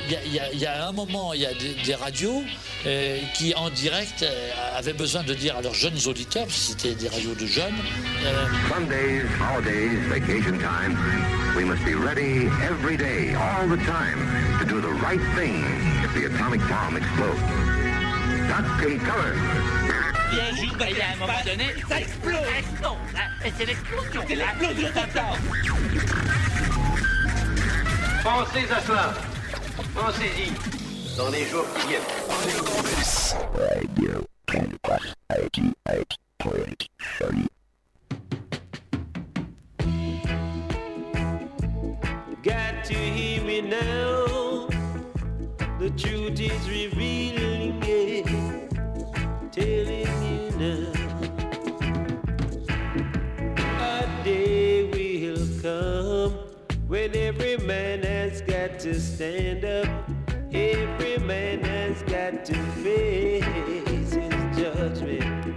il y a un moment, il y a des radios qui, en direct, avaient besoin de dire à leurs jeunes auditeurs, parce que c'était des radios de jeunes. Sundays, holidays, vacation time, we must be ready every day, all the time, to do the right thing if the atomic bomb explodes. Duck and cover. Bien jour, et à un moment donné, ça explose. Ça explose, hein. Et c'est l'explosion. C'est l'explosion totale. Pensez à cela. Pensez-y. Dans les jours qui viennent. Radio Campus 88.3. Got to hear me now. The truth is revealing it. Telling you now. A day will come when every man has got to stand up. Every man has got to face his judgment.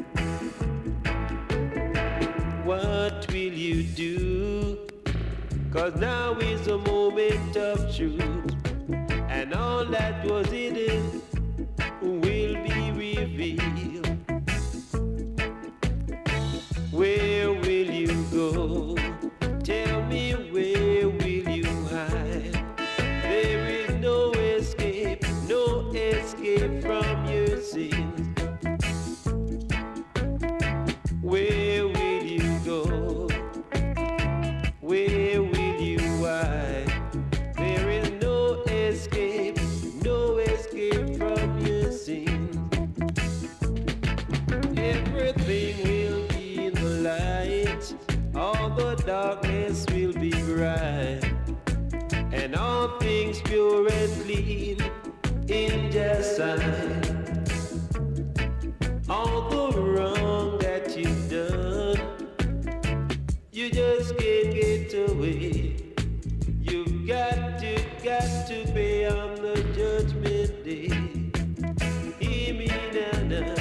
What will you do? 'Cause now is a moment of truth, and all that was hidden will be revealed. Where will you go? Tell me, where will you hide? There is no escape from your sins. Where will you go? Where will you hide? There is no escape from your sins. Everything will be in the light, all the darkness will be bright, and all things pure and clean in just sight. All the wrong that you've done, you just can't get away. You've got to pay on the judgment day. Hear me now.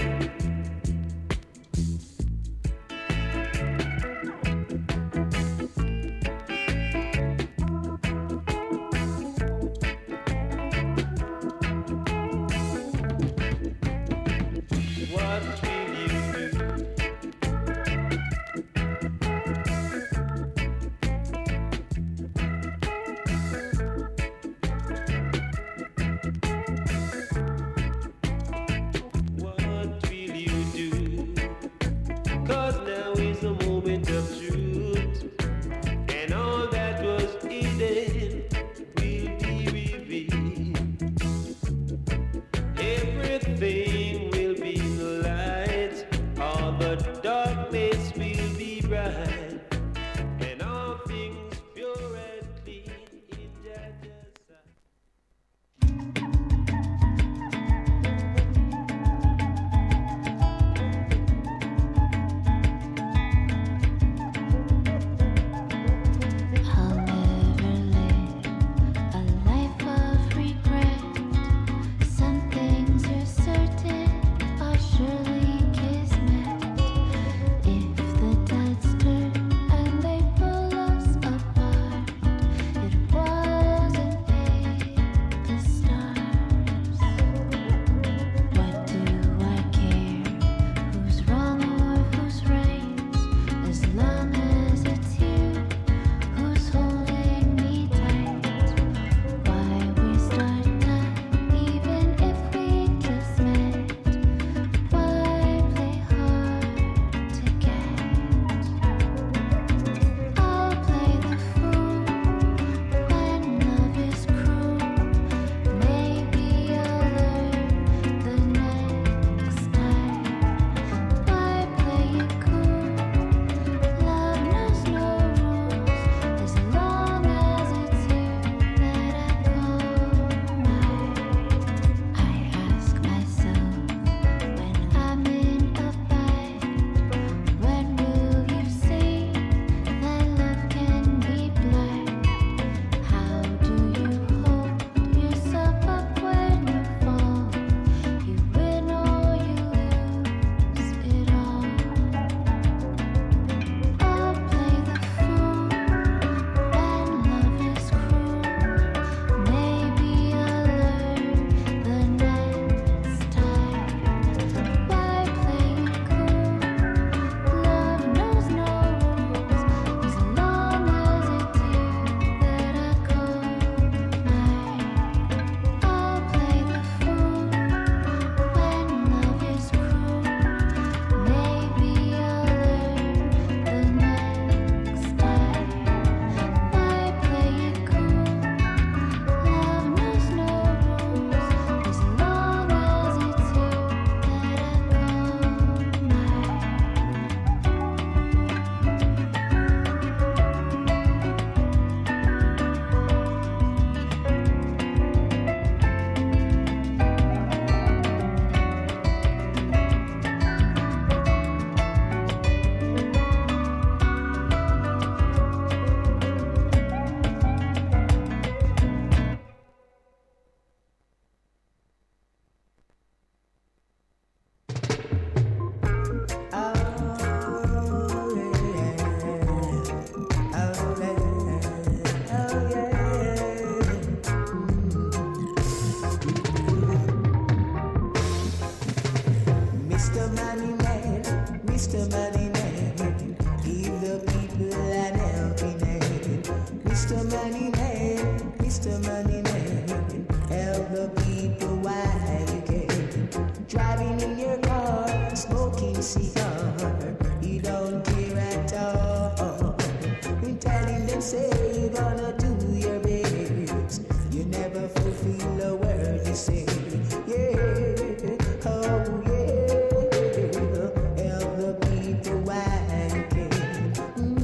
Driving in your car, smoking cigar, you don't care at all. Telling them say you're gonna do your best, you never fulfill a word you say. Yeah, oh yeah, help the people while you can.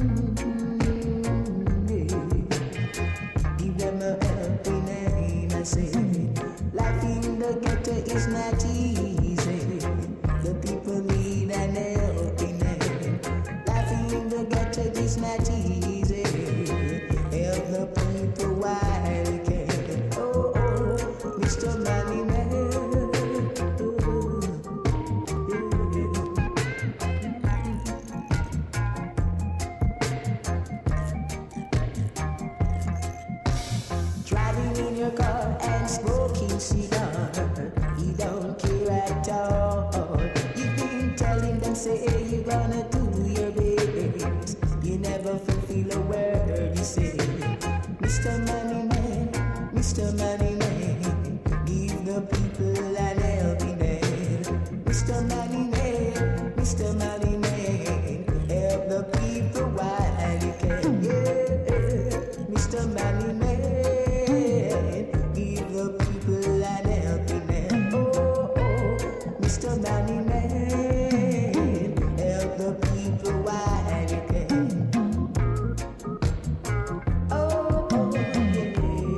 Yeah. Give them a helping hand, I say. Life in the ghetto is not easy. The people need an helping hand. Life in the ghetto is not easy. Help the people while you can. Oh, oh, Mr. Money Man. Driving in your car and smoking cigar, you don't care at all. You've been telling them say you're gonna do your best, you never fulfill a word you say. Mr. Money Man, Mr. Money Man, give the people an helping hand. Mr. Money Man, Mr. Money Man, help the people while you can. Yeah, Mr. Money Man, give the people an helping hand. Oh, oh, Mr. Money Man, help the people while you can. Oh, oh, yeah.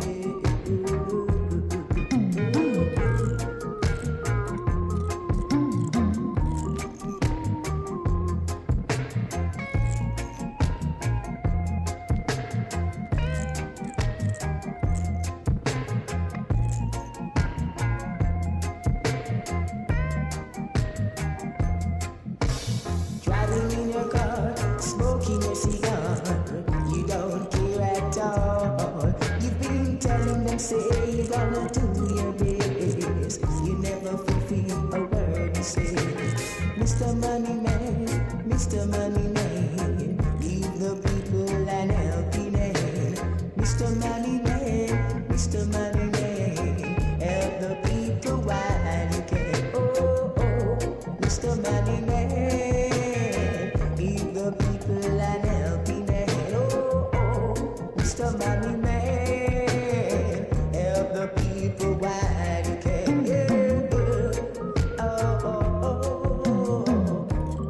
Driving in your car, smoking your cigar, you don't care at all. You've been telling them say you're gonna do your best, you never fulfill a word you say. Mr. Money Man, Mr. Money Man, give the people an helping hand. Mr. Money Man, Mr. Money Man, help the people while you can. Oh, oh, Mr. Money Man, give the people an helping hand. Oh, oh, Mr. Money Man, help the people while you can. Yeah, oh, oh, oh, oh.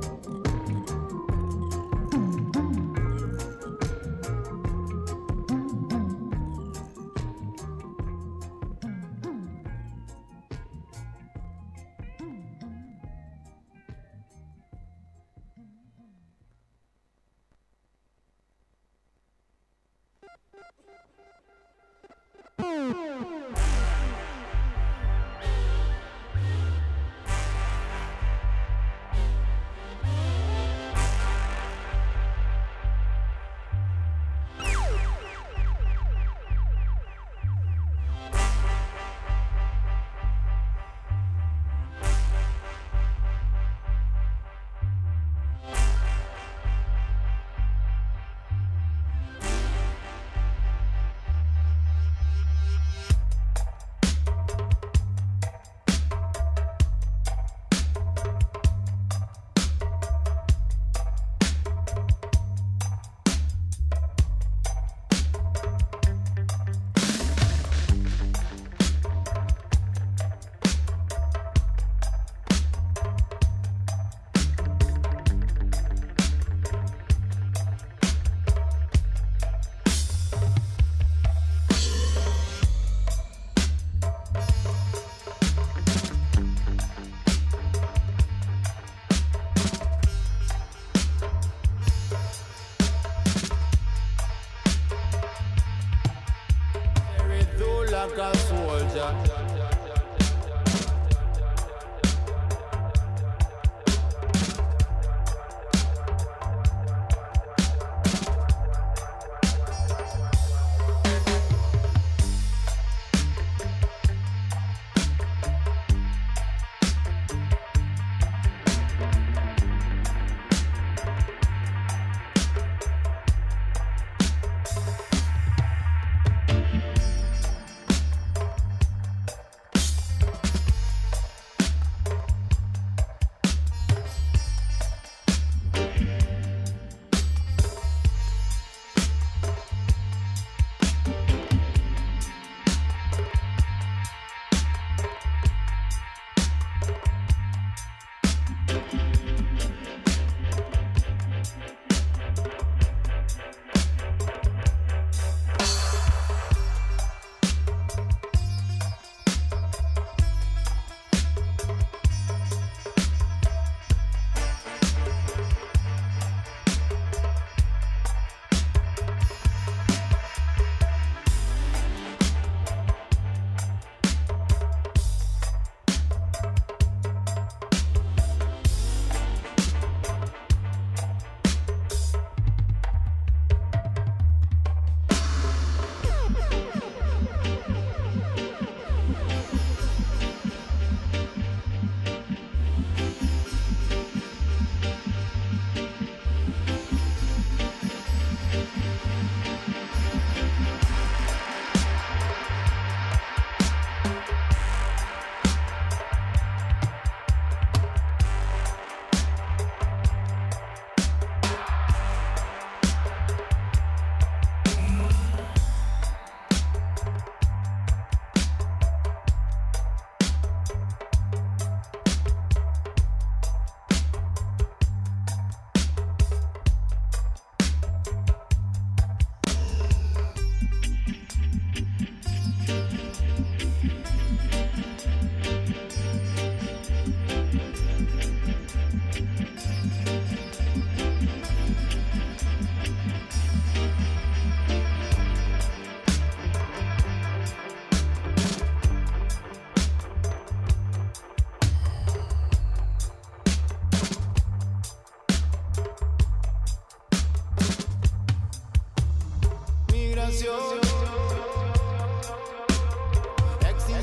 like a soldier.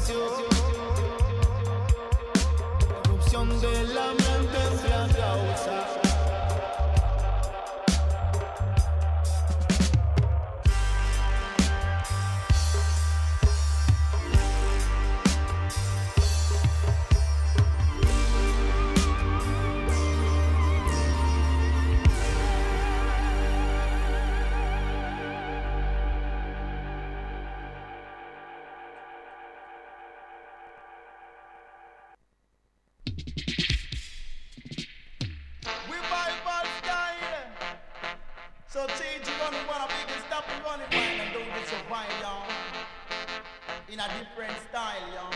Erupción de la mente es la causa. So change you running one, a big stop and running wine and don't get so fine, y'all. In a different style, y'all.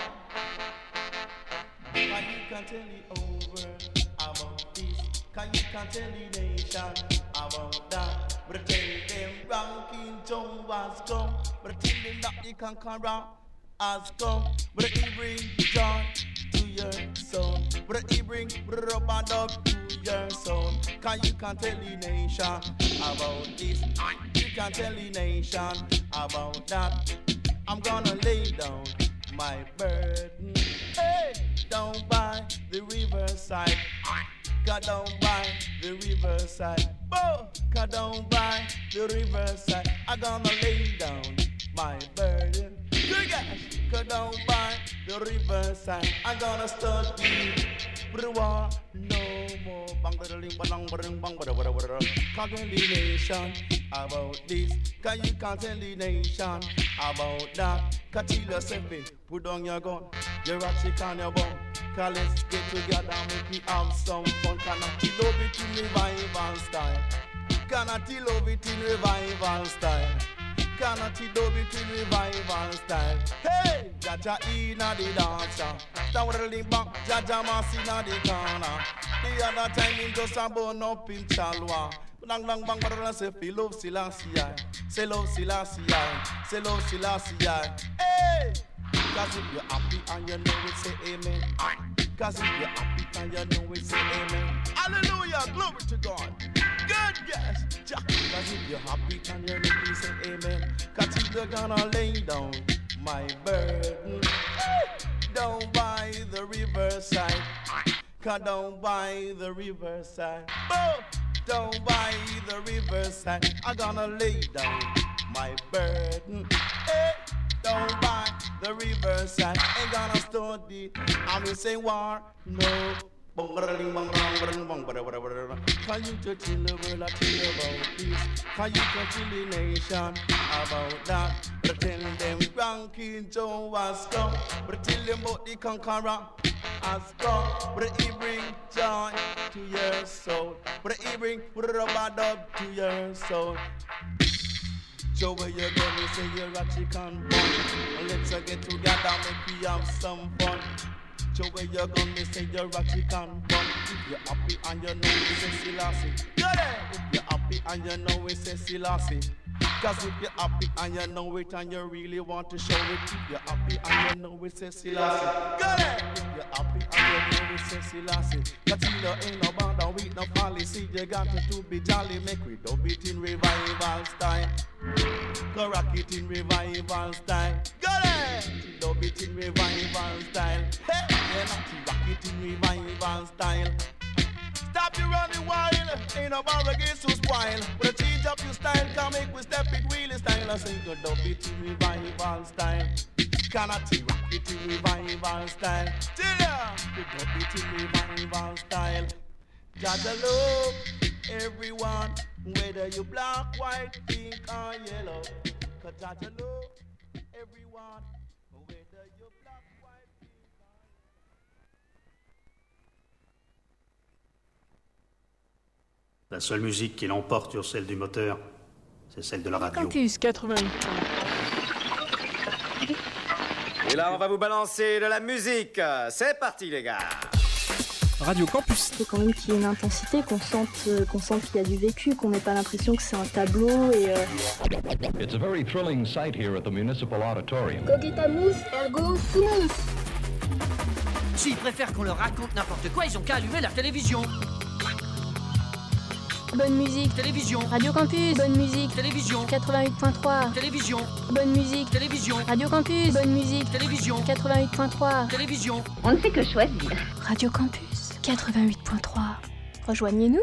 Can you can tell the over about this? Can you can tell the nation about that? But tell them ranking Joe has come. But tell them that the conqueror has come. But he bring joy to your soul. But he bring rubber dog to your soul. Can you can tell the nation about this? You can tell the nation about that. I'm gonna lay down my burden. Hey, down by the riverside. Go down by the riverside. Oh, go down by the riverside. I'm gonna lay down my burden. Good guys, go down by the riverside. I'm gonna study the war no more. Bang bang bang bang bang bang. Can't tell the nation about this. Cause you can't tell the nation about that. Cause till yourself put down your gun, your ratchet on your bum. Cause let's get together and make me have some fun. Cannot you love it in revival style? Cannot you love it in revival style? Cannot you love it in revival style? Hey, Jaja inna the dancer, towering back, Jaja mass inna the corner. The other time him just a burn up in Chalwa. Bang bang bang bang, say feel love Selassie, say love Selassie, say love Selassie. Hey, cause if you're happy and you know it, say amen. Cause if you're happy and you know it, say amen. Hallelujah, glory to God. Good guess. Cause if you're happy and you know it, say amen. Cause if you're gonna lay down my burden, down by the riverside. Cause down by the riverside. Down by the riverside. I'm gonna lay down my burden. Hey, down by the riverside. Ain't gonna study. I'm say war. No. Can you to tell the world I tell about this? Can you to tell the nation about that? But tell them Ranking Joe has come. But tell them about the conqueror has come. But he bring joy to your soul. But he bring rubber dub to your soul. Joe, where you gonna say you're a chicken bun? Let's get together, make we have some fun. Joe, where you gonna say you're a chicken bun? If you're happy and you know we say Selassie. If you're happy and you know we say Selassie. Cause if you're happy and you know it and you really want to show it. If you're happy and you know we say Selassie. If you're happy and you know we say Selassie. Cause you know ain't no bother with no policy. You got to be jolly, make we dub it in revival style. Go rock it in revival style. Got it! Dub it in revival style. Hey, yeah, not rock it in revival style. Stop you running wild, ain't no barricades to spoil. But change up your style, can make we step it wheelie style. I say go dub it in revival style. Cannot rock it in revival style. Till ya, go dub it in revival style. Jaja love everyone, whether you black, white, pink or yellow. Cause Jaja love everyone, whether you black, white, pink or yellow. La seule musique qui l'emporte sur celle du moteur, c'est celle de la radio. Campus 88. Et là, on va vous balancer de la musique. C'est parti, les gars. Radio Campus. Il faut quand même qu'il y ait une intensité, qu'on sente qu'il y a du vécu, qu'on n'ait pas l'impression que c'est un tableau et... It's a very thrilling sight here at the Municipal Auditorium. Coquette mousse, ergo, fousse. S'ils préfèrent qu'on leur raconte n'importe quoi, ils ont qu'à allumer la télévision. Bonne musique. Télévision. Radio Campus. Bonne musique. Télévision. 88.3. Télévision. Bonne musique. Télévision. Radio Campus. Bonne musique. Télévision. 88.3. Télévision. On ne fait que choisir. Radio Campus. 88.3. Rejoignez-nous.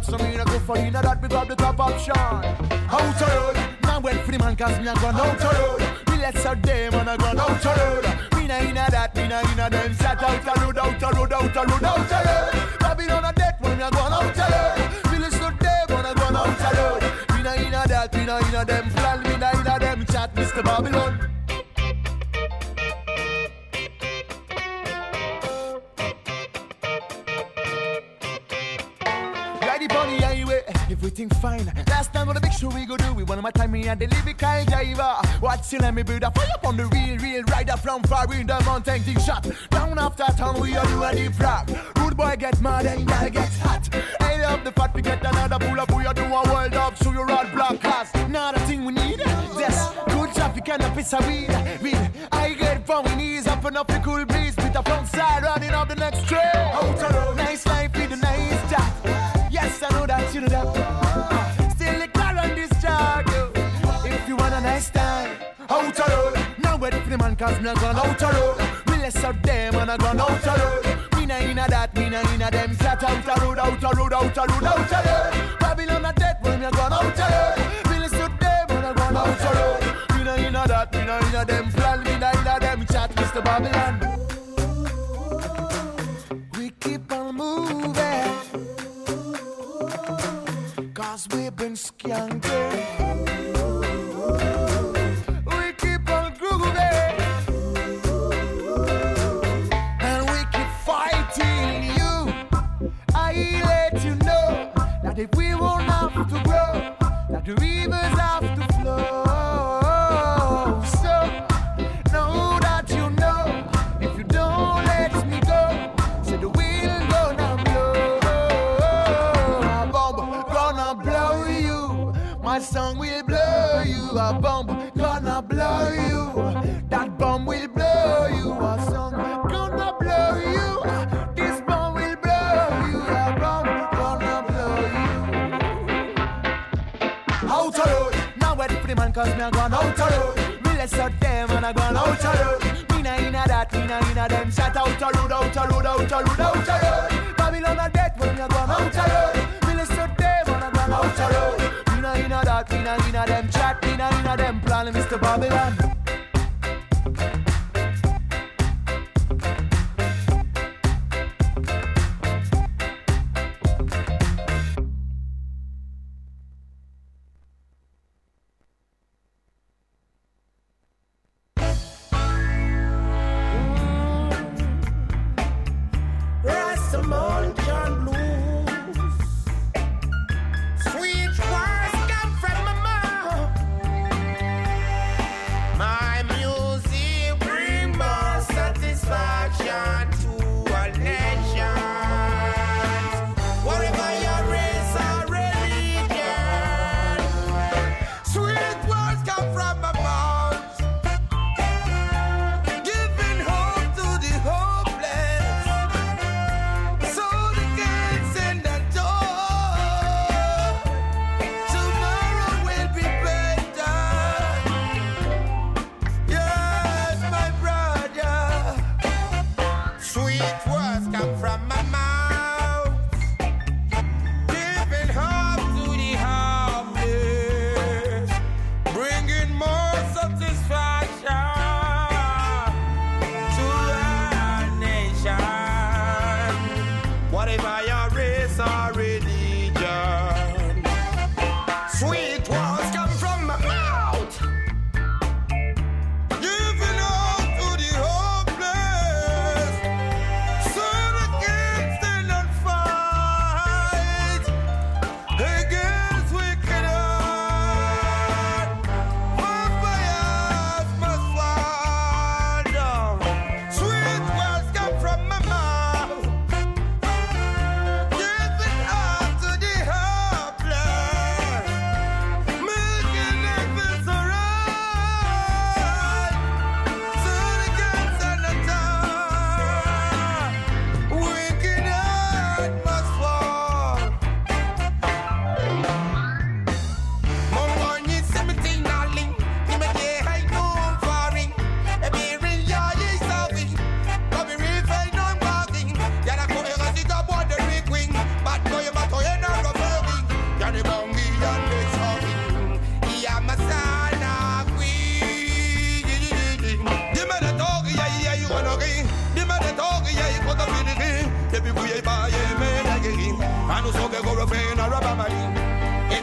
that, so me no go for in that, we grab the top option. Out the road, now wait for the man, cause me a gone out the road. We let's out them and I gone out the road. Me na in that, me na in them, shut out the road, out the road, out the road, out the road. Babylon a death when me a gone out the road. We let's out them and I gone out the road. Me na in that, me na in them, plan, me na in them, chat, Mr. Babylon. Everything fine. Last time on the big show we go do it. One of my time me and the lyrical driver. Watch you let me build a fire up on the real rider from far in the mountain. Thing shot down after town. We are doing a deep rock. Rude boy get mad and girl gets hot. I love the fact we get another pull up. We are doing a world up. So you're all block cast. Not a thing we need. Yes, good traffic and a piece of weed. I get from my knees up and up the cool breeze. With the front side running up the next train. Nice life with a nice chat. Yes, I know that you know that. Still the car on this chart, yo. If you want a nice time, out the road. Now wait for the man, cause me a gone out the road. We less out them and I gone out the road. Me na inna that, me na inna them. Flat out the road, out the road, out the road, out the road. Babylon a death when me a gone out the road. We less out them and I gone out the road. Me na inna that, me na inna them. Plan, me na inna them. Chat, Mr. Babylon. We keep on moving. Cause we've been skanking. We keep on grooving. And we keep fighting you. I let you know that if we won't have to grow, that the rivers have to flow. So, know that you know, if you don't let me go, say the wind gonna blow. Blow you, my song will blow you. A bomb gonna blow you. That bomb will blow you. A song gonna blow you. This bomb will blow you. A bomb gonna blow you. Out the road, now wait for the man, cause me a gone out the road. We let's out them and I gone out the road. Me na inna that, me na inna them. Shout out the road, out the road, out the road, out the road. Babylon a death when me a gone out the road. We let's out them and I gone out the road. Me na inna that, me na inna them. Chat, me na inna them. Plan, Mr. Babylon. My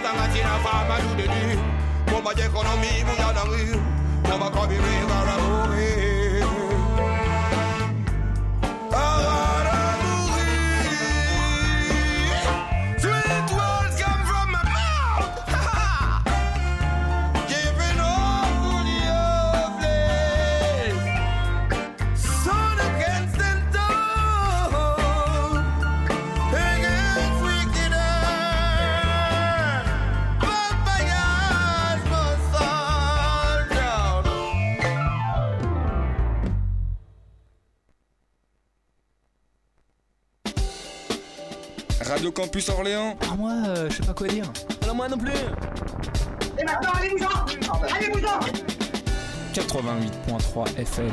as in a farm and do the deal. Mama the economy, we are the real. Mama come in river away. Radio Campus Orléans. Ah moi, je sais pas quoi dire. Alors moi non plus. Et maintenant, allez-vous-en. Allez-vous-en. 88.3 FM.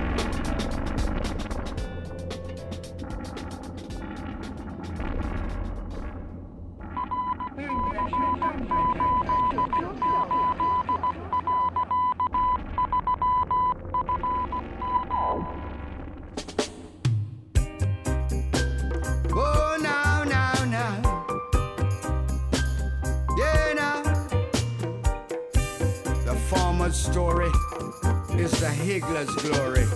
Story is the Higgler's glory.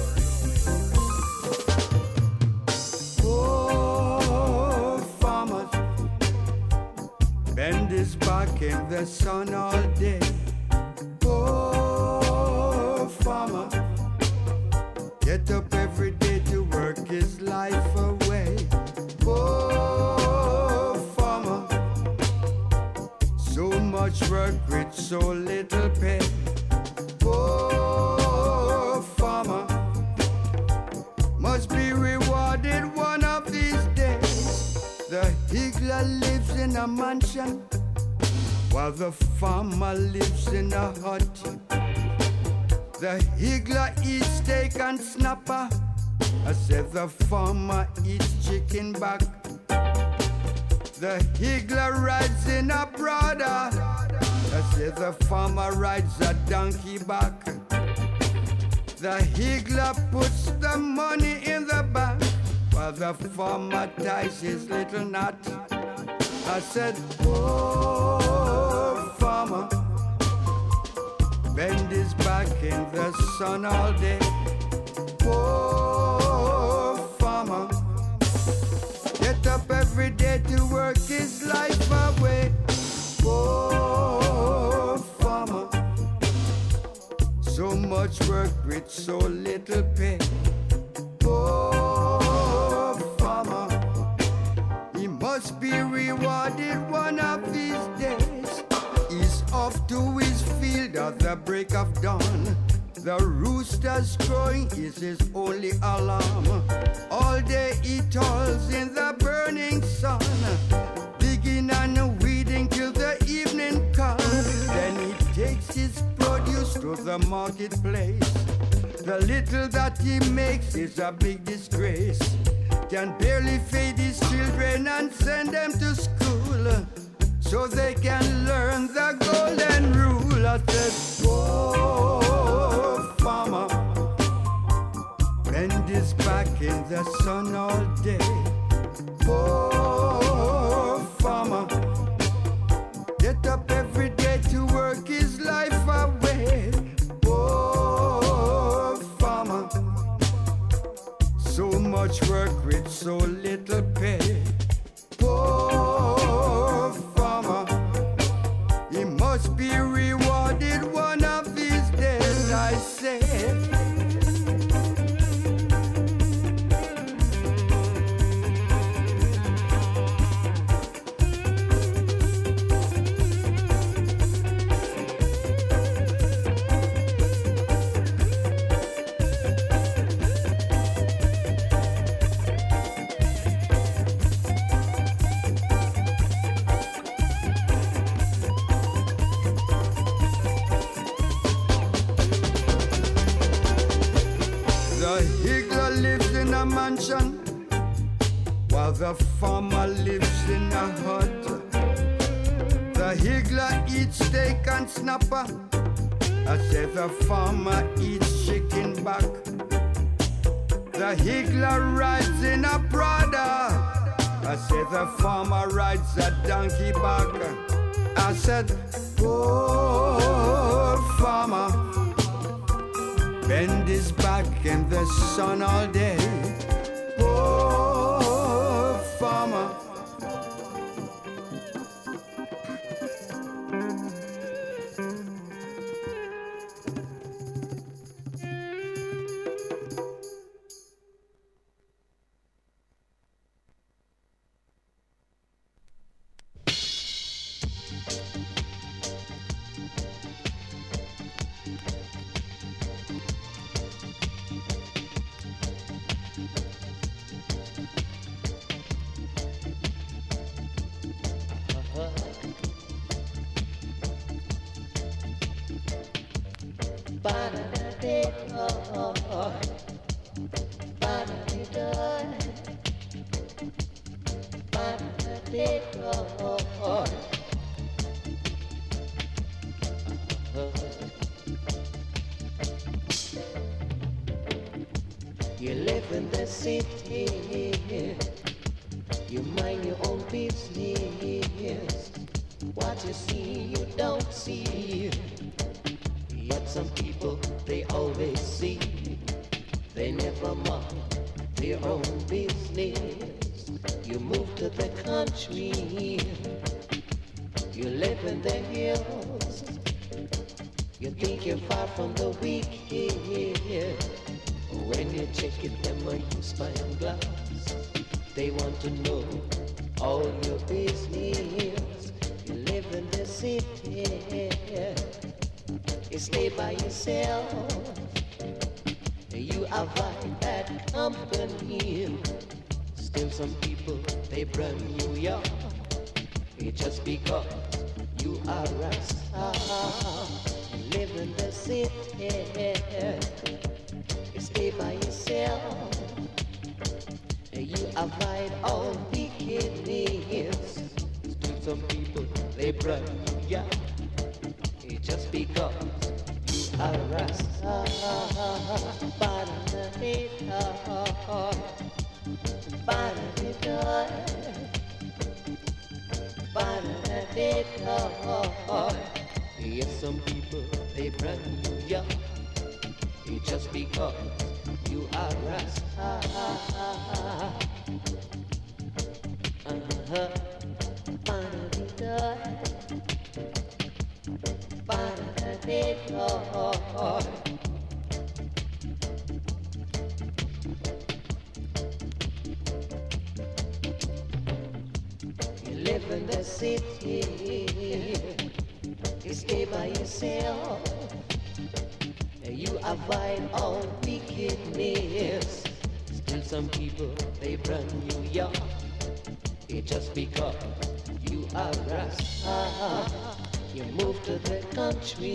Oh, farmers bend his back in the sun all day. Oh, farmer, get up every day to work his life away. Oh, farmer, so much work with so little pay. Oh, farmer must be rewarded one of these days. The higgler lives in a mansion while the farmer lives in a hut. The higgler eats steak and snapper. I said the farmer eats chicken back. The higgler rides in a Prada. I said the farmer rides a donkey back. The higgler puts the money in the bank while the farmer ties his little knot. I said, oh, farmer, bend his back in the sun all day. Oh, farmer, get up every day to work his life away. Oh, farmer, so much work with so little pay. Oh, farmer, he must be rewarded one of these days. He's off to his field at the break of dawn. The rooster's crowing is his only alarm. All day he toils in the burning sun, digging and weeding till the evening comes. Then he takes his produce to the marketplace. The little that he makes is a big disgrace. Can barely feed his children and send them to school so they can learn the golden rule. I said, oh, farmer, bend his back in the sun all day. Oh, farmer, get up every day to work his life away. Oh, farmer, so much work with so little pay. Oh, farmer, he must be rewarded one of these days, I say. Mansion, while the farmer lives in a hut. The higgler eats steak and snapper. I said the farmer eats chicken back. The higgler rides in a Prada. I said the farmer rides a donkey back. I said, poor farmer, bend his back in the sun all day. Poor farmer. You live in the city, you mind your own business. What you see, you don't see. Yet some people, they always see. They never mind their own business. You move to the country, you live in the hills. You think you're far from the wicked. When you check it, them are you spyglass. They want to know all your business. You live in the city, you stay by yourself. You avoid bad company. Still some people, they burn you up. It's just because you are Rasta. You live in the city, stay by yourself. You avoid all wickedness. Still some people, they burn you up. It's just because you are Rasta. Yes, some people, they burn you up. It's just because you are Rasta. You live in the city, you stay by yourself. You avoid all wickedness. Still some people, they run you young. It's just because you are Rasta. You move to the country,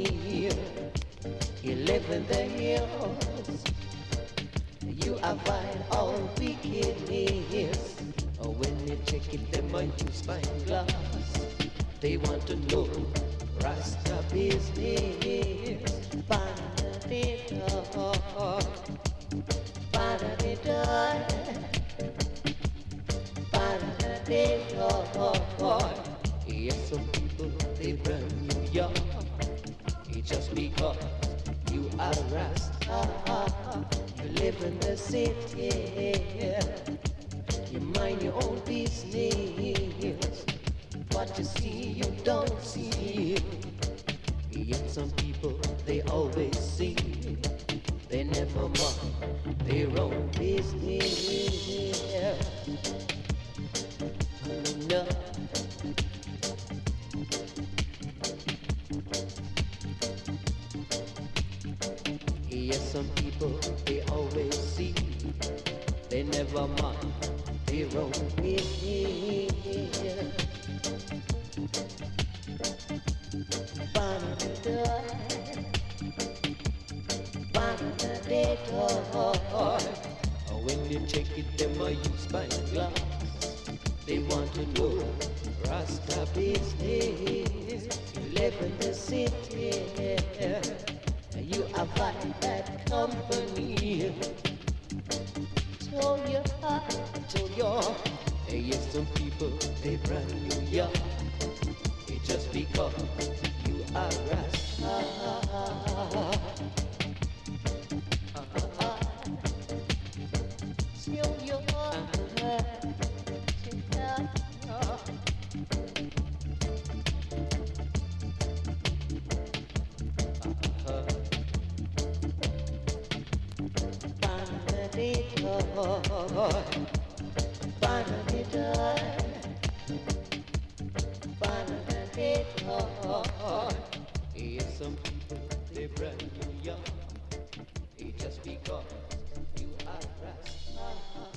you live in the hills. You avoid all wickedness. When you check it, they might use spyglass. They want to know Rasta business. Yes, some people, they burn you young. It's just because you are Rasta. You live in the city, you mind your own business. What you see, you don't see. Yet some people, they always see. They never mind their own business. No. Yes, some people, they always see. They never mind their own business. When you check it, them are used by glass. They want to know Rasta business. You live in the city, you avoid bad company. So your heart, so your yes, some people they brand you young. It's just because you are Rasta. Yes, some people, they brand you young. It's just because you are Rasta.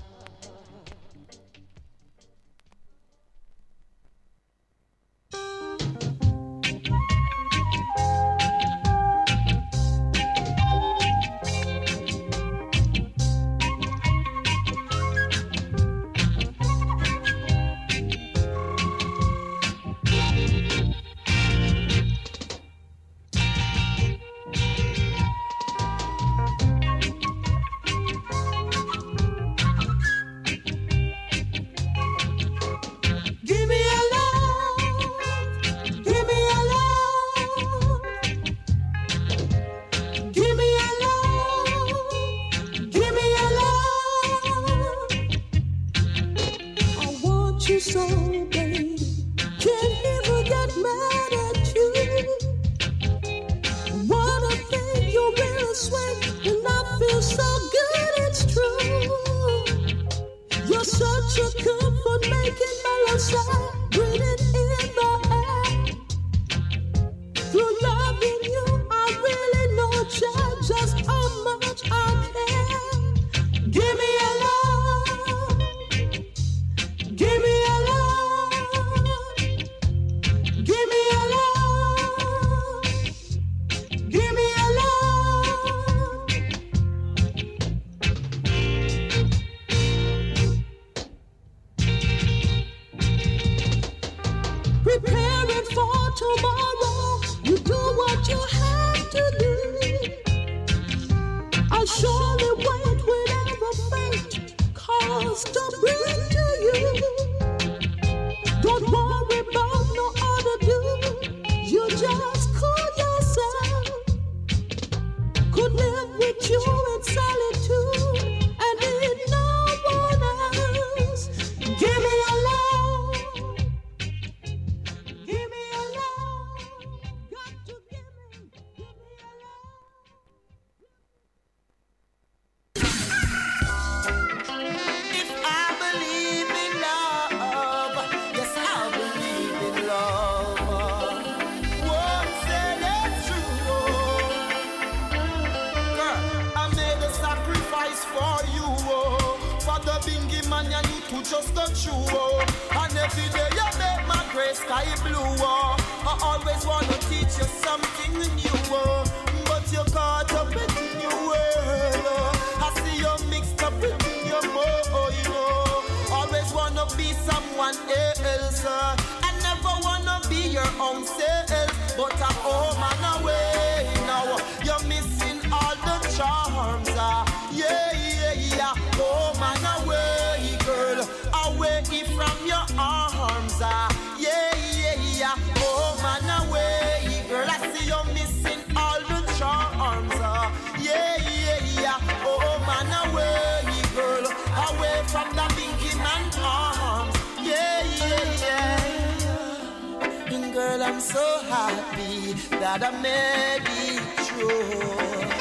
I'm so happy that I made it through.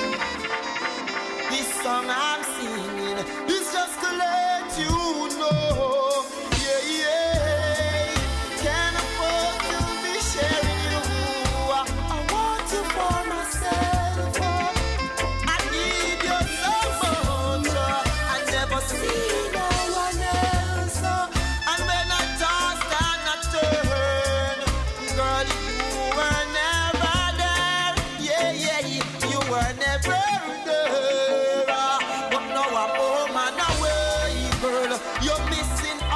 This song I'm singing is just to let you know. Yeah, yeah. Can't afford to be sharing you. I want you for myself. I need you so much. I never see no one else. And when I toss and I turn, girl, you were never there. Yeah, yeah, you were never there. But now I'm home and away, girl. You're missing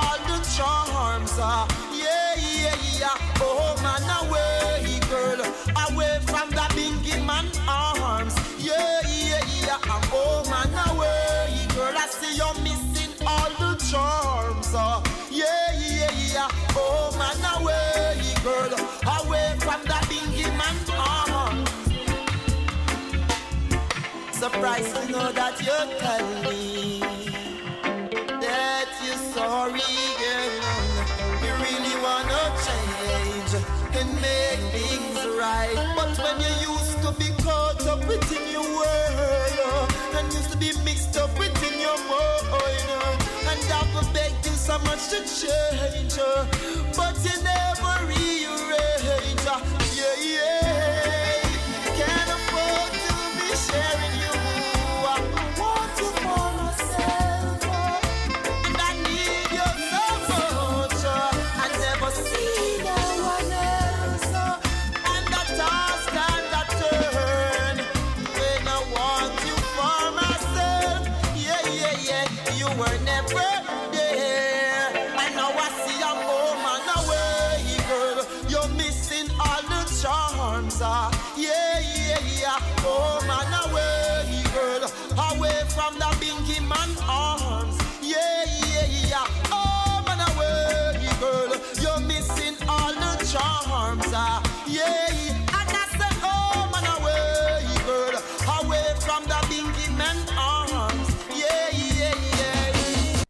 surprised to know that you tell me that you're sorry, girl. You really wanna change and make things right. But when you used to be caught up within your world and used to be mixed up within your mind, and I've begged you so much to change, but you never rearrange. Yeah, yeah. Can't afford to be sharing you. I want you for myself, and I need you so much. I never see no one else, and the toss and the turn when I want you for myself. Yeah, yeah, yeah. You were never there, and now I see I'm home and away, girl. You're missing all the charms. Yeah, yeah, yeah. Home and away, girl. Away from the bingy man arms. Yeah, yeah, yeah. Home and away, girl. You're missing all the charms. Yeah, and I said home and away, girl. Away from the bingy man arms. Yeah, yeah, yeah.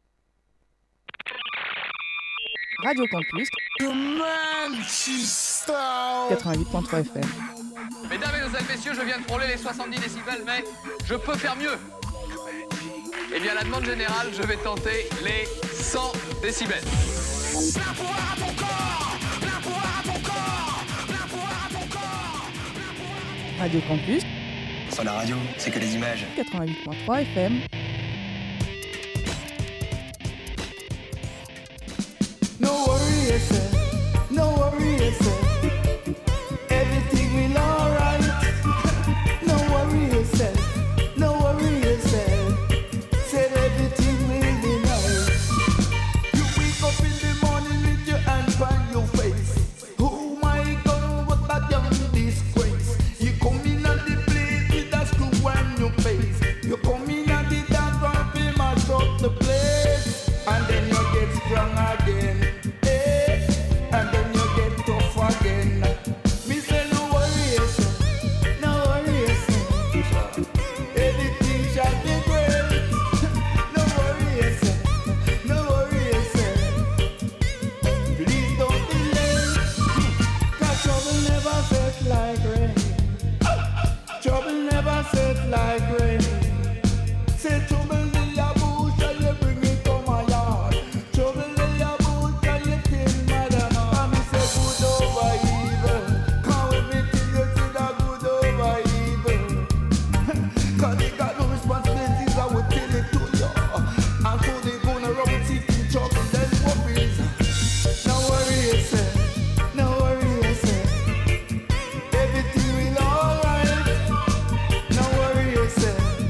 Radio Campus 88.3 FM. Mesdames, Mesdemoiselles, Messieurs, je viens de frôler les 70 décibels, mais je peux faire mieux. Eh bien, à la demande générale, je vais tenter les 100 décibels. Plein pouvoir à ton corps, plein pouvoir à ton corps, plein pouvoir à ton corps. Radio Campus Sur la radio, c'est que les images. 88.3 FM. No worry yourself, no worry yourself. Everything will alright. No worry yourself, no worry yourself. Said everything will be nice. You wake up in the morning with your hand on your face. Oh my God, what a damn disgrace. You come in at the place with a screw on your face. You come in at the dance and feel mash up the place. And then you get strong again. And then you get tough again. Me say no worry yourself, no worry yourself. Everything shall be great. No worry yourself, no worry yourself. Please don't be late. 'Cause trouble never set like rain. Trouble never set like rain. Say trouble in your bush and you bring it to my yard. Trouble in your bush and you kill mother. And me say good over evil. How everything you see that good over evil. 'Cause they got no responsibilities, I will tell it to you. And so they gonna rub it seeking trouble, then worries. No worry yourself, no worry yourself. Everything will alright. No worry yourself,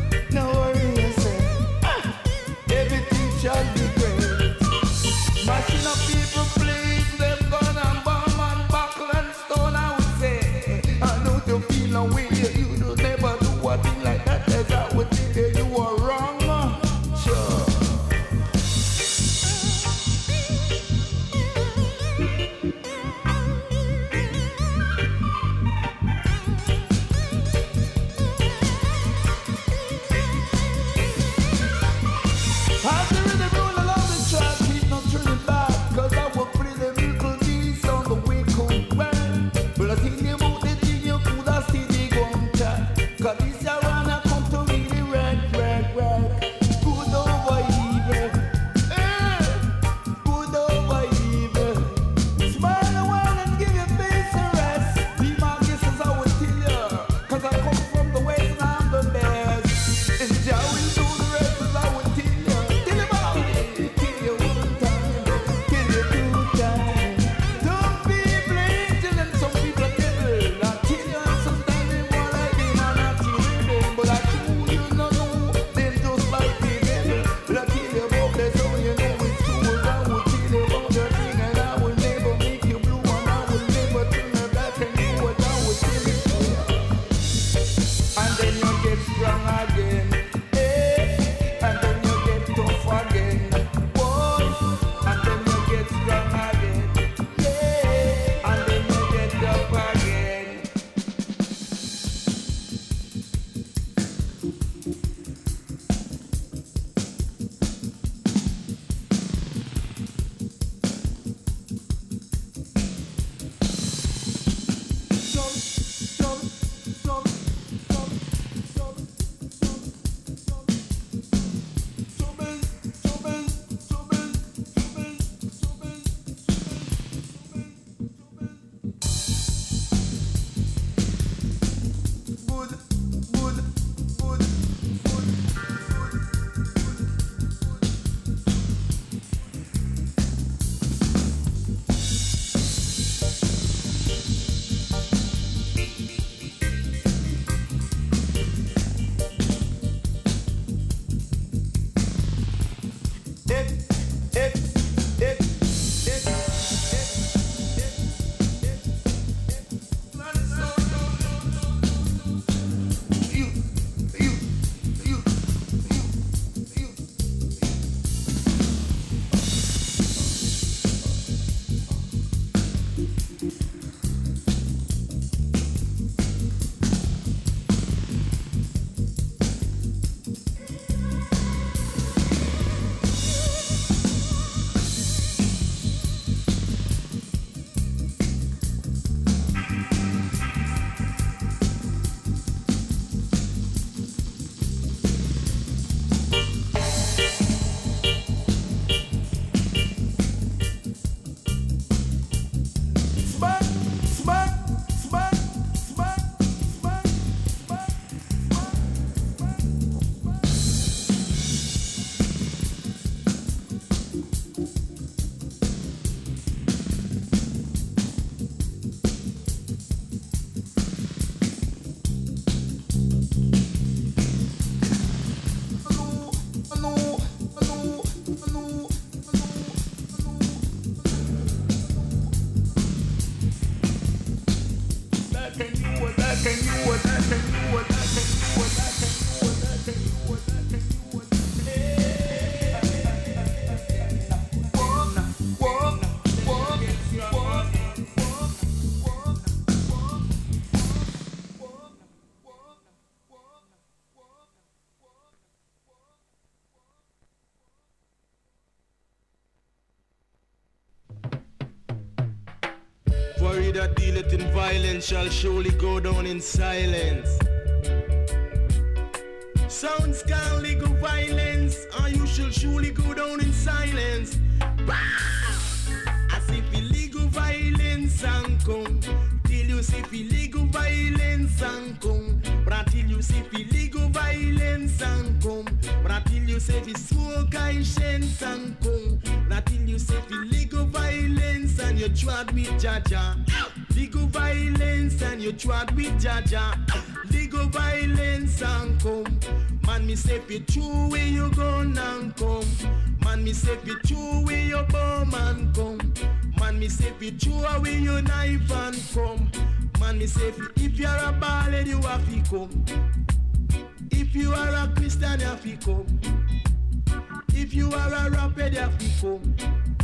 For he that dealeth in violence shall surely go down in silence. Sounds can legal violence, and you shall surely go down in silence. As if illegal violence and come, till you see illegal violence and come. But until you see illegal violence and come, but until you say the soul conscience and come, but until you say illegal violence and you trod with Jaja, legal violence and you trod with Jaja, legal violence and come. Man, me say fi true where you gone and come. Man, me say fi true where your bomb and come. Man, me say fi true where your knife and come. Man, me say fi if you're a ballad you have to come. If you are a Christian you have to come. If you are a rapper you have to come.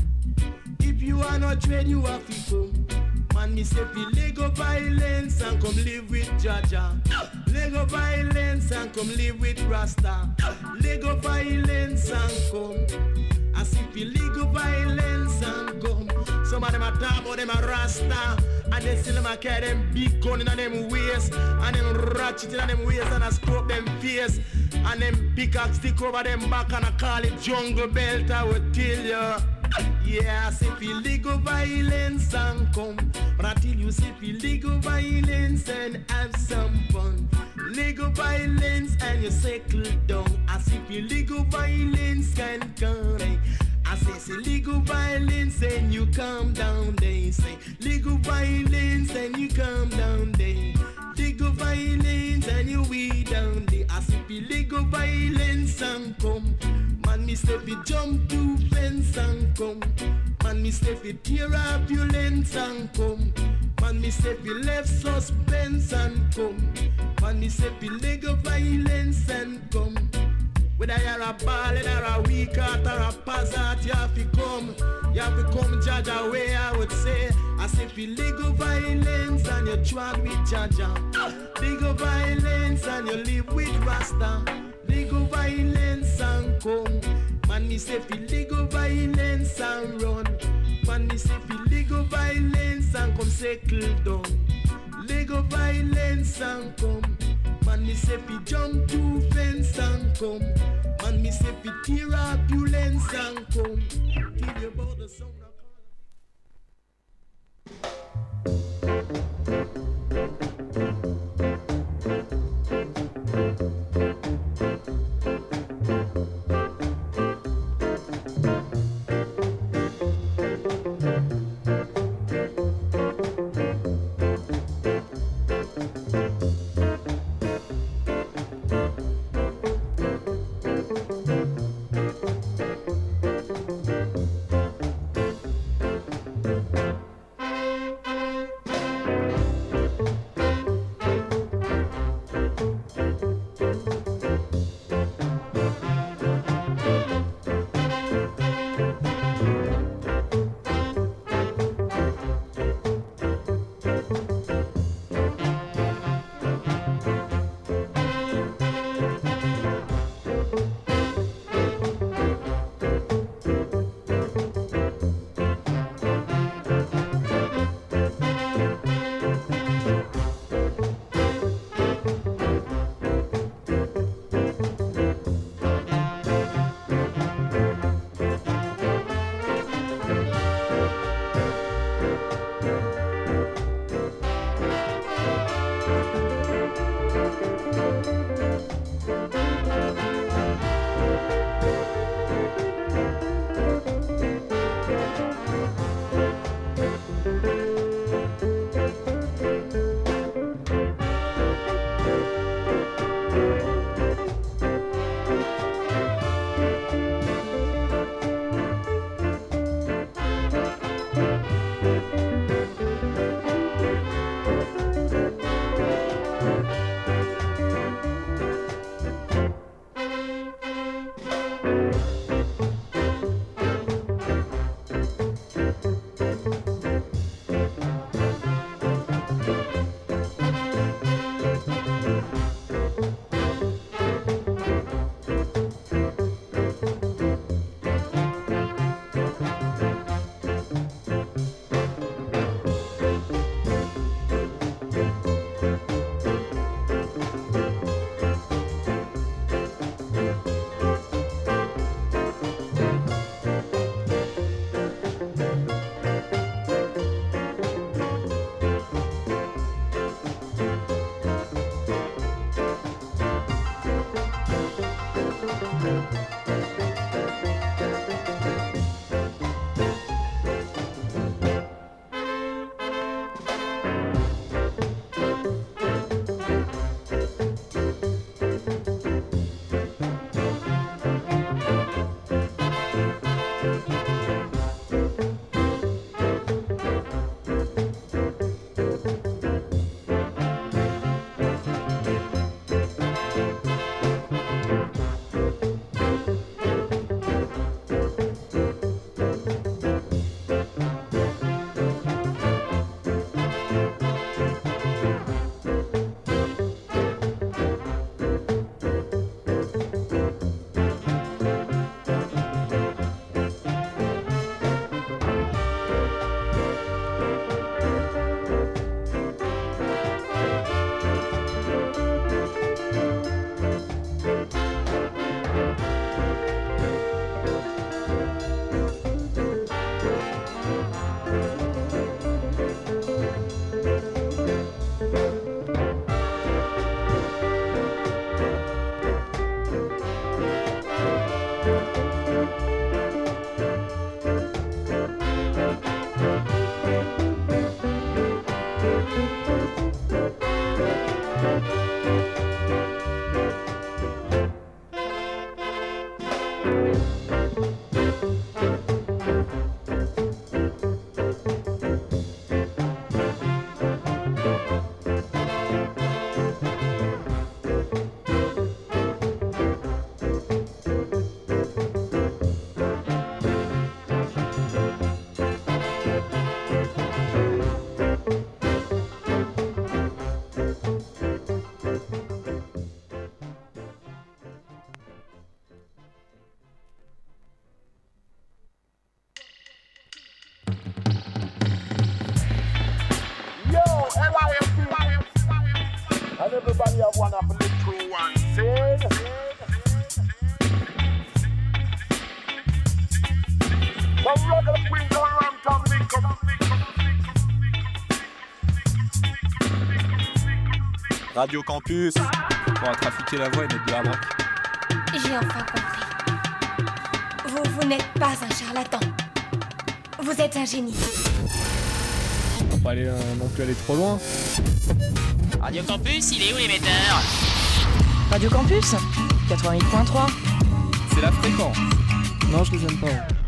If you are not trade you have to come. Man, me say fi Lego violence and come live with Jaja. Lego violence and come live with Rasta. Lego violence and come. I see fi Lego violence and come. Some of them a talk about them a Rasta, and they still them a carry them big gun in them waist, and them ratchet in them waist, and a scope them face, and them pickaxe stick over them back, and I call it jungle belt. I will tell you. Yeah, I say illegal violence and come. But until you say illegal violence and have some fun, legal violence and you settle down. I say illegal violence can come. I say legal violence and you calm down. They say legal violence and you calm down. They legal violence and you weed down. They I say illegal violence and come. Man, me say fi jump to fence and come. Man, me say fi tear up your lens and come. Man, me say fi left suspense and come. Man, me say fi legal violence and come. Whether you're a ballad or a weak heart or a passat, you have to come. You have to come judge away, I would say. I say fi legal violence and you trod with Jaja. Legal violence and you live with Rasta. Legal violence and come. Man, me say fi legal violence and run. Man, me say fi legal violence and come settle down. Legal violence and come. Man, me say fi jump to fence and come. Man, me say fi tear up your lens and come. Tell you about the sound of And everybody have one up and live through one. Sing. Some regular queens on Ram Tom link up. Radio Campus. On va trafiquer la voix et mettre de la braque. J'ai enfin compris. Vous n'êtes pas un charlatan. Vous êtes un génie. On va pas aller non plus aller trop loin. Radio Campus, il est où l'émetteur? Radio Campus 88.3. C'est la fréquence. Non, je les aime pas.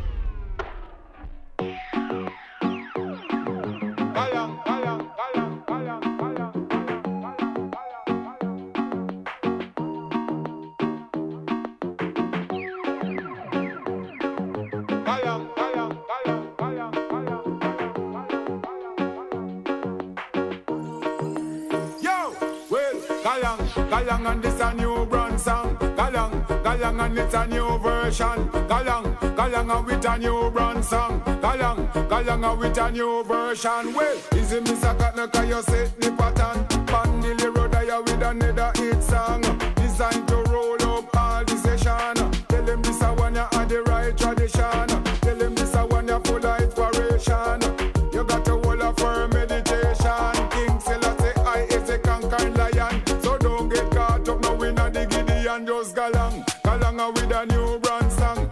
Galang and this a new brand song. Galang and it's a new version. Galang and with a new brand song. Galang and with a new version. Well, easy Mr. Katna, can you set the pattern? Pandili road there with another hit song. Designed to roll up all the session. Tell them this a one you had the right tradition. Tell them this a one you full of inspiration. You got to hold up for meditation. King Selassie I is a conquering lion. So don't get caught up now in a diggity and just galang. Galang with a new brand song.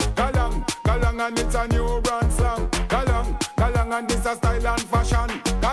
Galang and it's a new brand song. Galang and it's a style and fashion.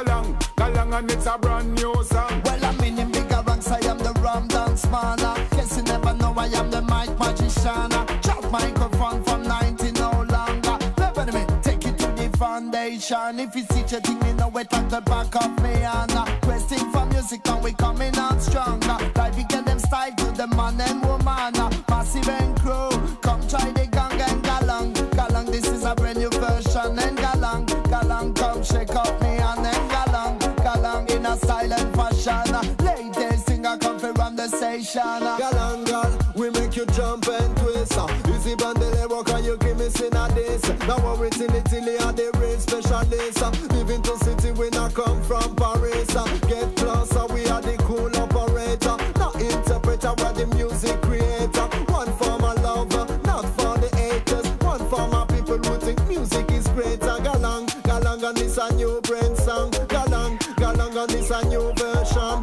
Galang and it's a brand new song. Well, I'm in bigger ranks, I am the Ram Dance Man. Guess you never know I am the mic magician. Chop microphone from 90 no longer. Never me, take it to the foundation. If you see your thing, you know it at the back of me. And questing for music, now we coming out stronger. Like we get them style to the man and woman. Massive and crew, come try the gang and galang. Galang, this is a brand new version. And galang, come shake up me and then galang in a silent fashion. Latest singer come from run the station. Galang, we make you jump and twist. Easy bandele work and you give me sin a this. Now we're in Italy and the real specialist. Living to city we not come from Paris. Get closer, we are the cool operator. Not interpreter, we're the music creator. One for my lover, not for the haters. One for my people who think music is greater. Galang and it's a new brand song. Galang and it's a new version.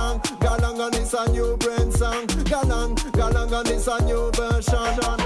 Galang and it's a new brand song. Galang and it's a new version.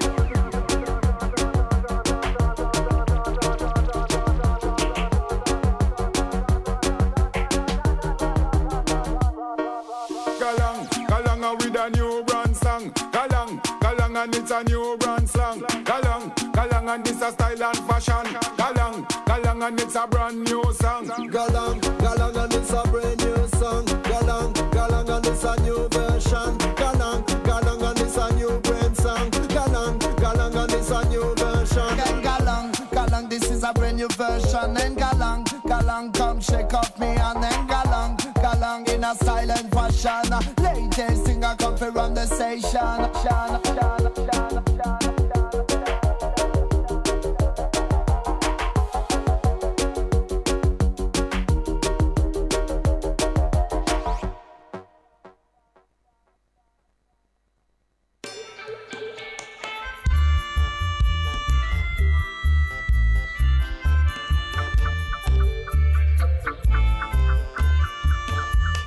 Galang with a new brand song. Galang and it's a new brand song. Galang and it's a style and fashion. Galang and it's a brand new song. Galang and it's a brand new song. Galang and it's a new version. Galang and it's a new brand song. Galang and it's a new version. And galang, this is a brand new version. And galang, come shake up me and then galang in a silent fashion. Latest singer come from run the station.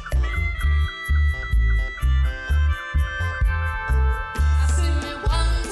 See me one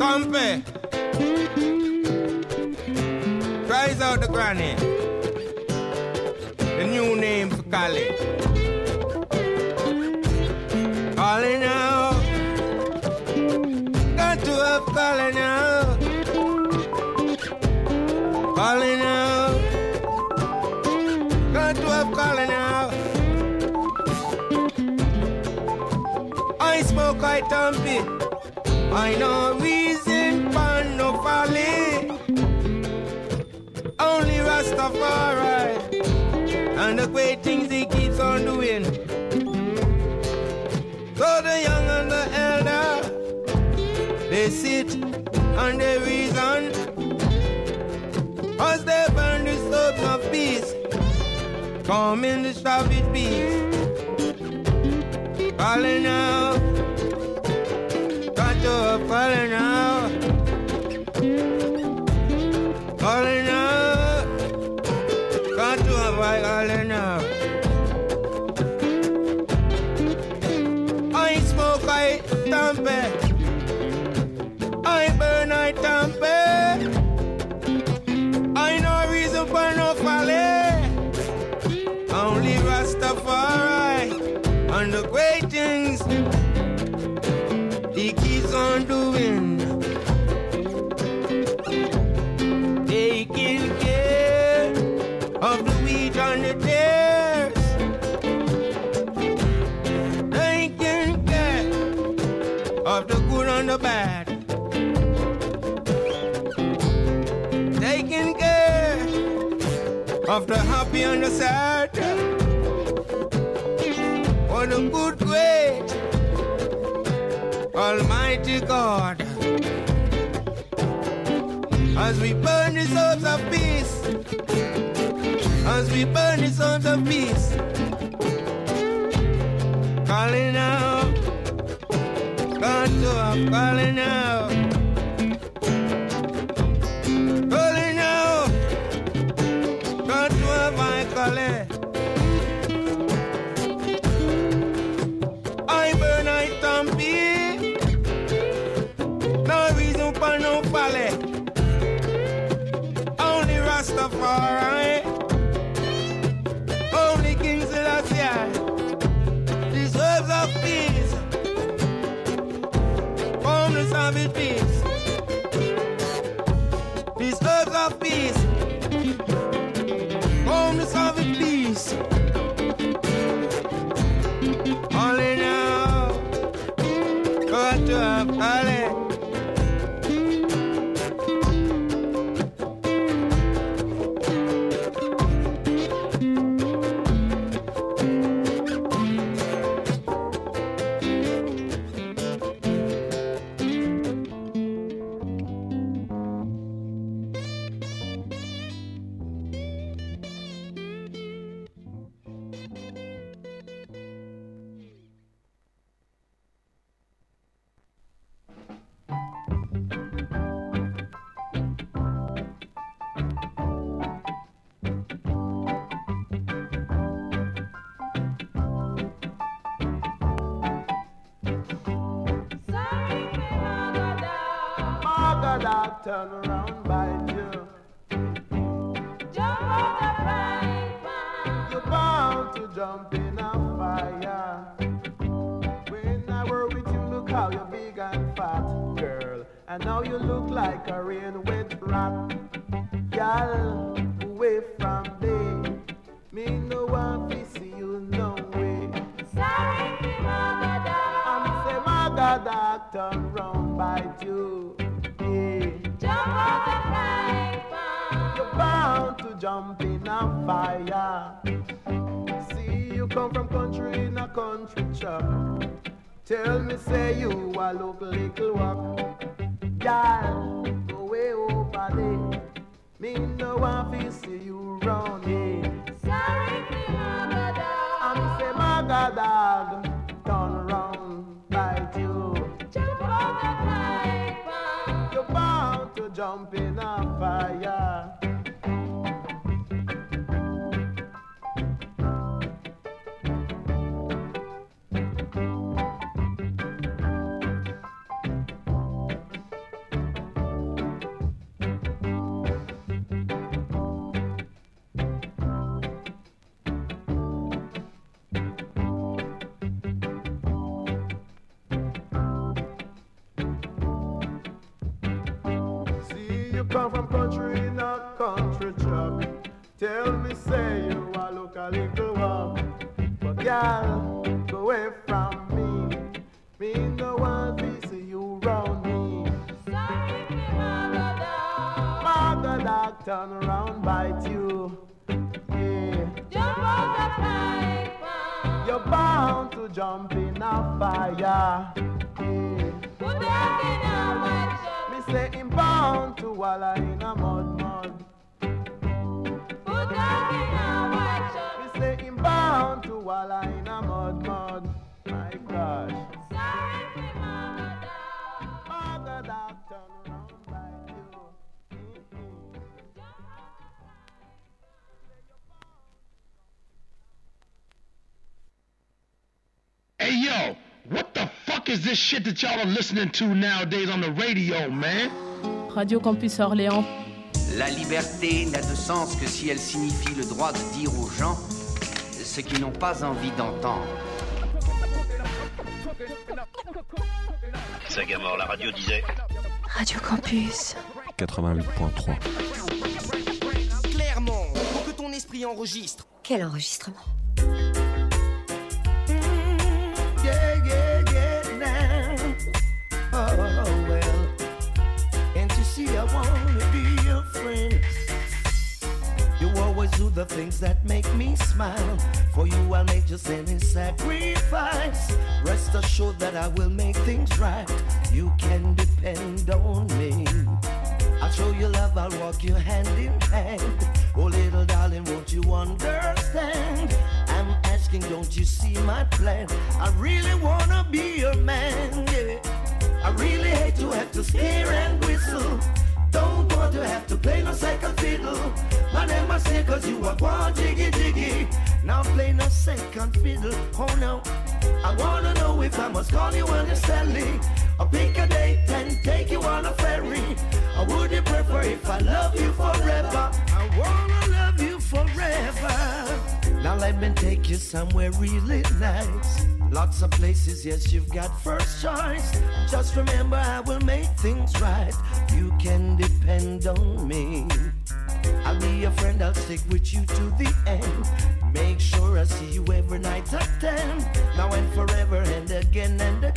Compare. Rise out the granny. The new name for Cali. Calling out. Got to have calling out. Calling out. Got to have calling out. I smoke, I thumpy. I know reason for no folly. Only Rastafari. And the great things he keeps on doing. So the young and the elder, they sit and they reason. As they burn the soaps of peace, come in the savage peace. Calling out, got to have calling out. Calling out, got to have calling out. I smoke, I tamper. I burn, I tamper. I no reason for no folly. Only Rastafari and the great things he keeps on doing. Taking care of the wheat and the tares. Taking care of the good and the bad. Taking care of the happy and the sad. For the good, great, Almighty God. As we burn the souls of peace, as we burn the souls of peace, calling out, got to have calling out, calling out, got to have my calling. I burn, I thumpy, no reason for no folly. Rastafari, only King Selassie, deserves of peace, from the savage peace, deserves of peace, from the savage peace. Only now, got to have calling. Turn around by you. Jump out the frying pan. You're bound to jump in a fire. When I were with you, look how you're big and fat, girl. And now you look like a rain wet rat. Girl, away from me. Me no want to see you no way. Sorry, Magadak. I'm say Magadak, turn round by you. Jump out the frying pan. You're bound to jump in a fire. See, you come from country in a country truck. Tell me, say you a look little walk. Girl, go way over there. Me no want to see you round here. Sorry, Magadag. I'm say Magadag, turn around like you. Jump out the frying pan. You're bound to jump in a fire. Come from country in a country truck. Tell me, say you a look a little one. But girl, go away from me. Me no want to see you round me. Sorry, me mother dog. Mother dog turn around, bite you. Yeah. Jump out the pipe. You're bound to jump in a fire. Yeah. Put that in a white shirt. Me say him bound to wallow in a mud. Put that in a white shirt. Me say him bound to wallow in a mud. My gosh. Sorry, me mama dog. Mother dog turn around like you. Hey yo, what the fuck is this shit that y'all are listening to nowadays on the radio, man? Radio Campus Orléans. La liberté n'a de sens que si elle signifie le droit de dire aux gens ce qu'ils n'ont pas envie d'entendre. Sagamore, la radio disait. Radio Campus 88.3. Clairement, pour que ton esprit enregistre. Quel enregistrement? Yeah, now. Oh, well. Can't you see I wanna be your friend? You always do the things that make me smile. For you I'll make just any sacrifice. Rest assured that I will make things right. You can depend on me. I'll show you love, I'll walk you hand in hand. Oh little darling, won't you understand? I'm asking, don't you see my plan? I really wanna be your man, yeah. I really hate to have to scare and whistle. Don't want to have to play no second fiddle. My name I say cause you are one jiggy. Now play no second fiddle, oh no. I wanna know if I must call you honestly, or pick a date and take you on a ferry. Or would you prefer if I love you forever? I wanna love you forever. Now let me take you somewhere really nice. Lots of places, yes, you've got first choice. Just remember I will make things right. You can depend on me. I'll be your friend, I'll stick with you to the end. Make sure I see you every night at 10. Now and forever and again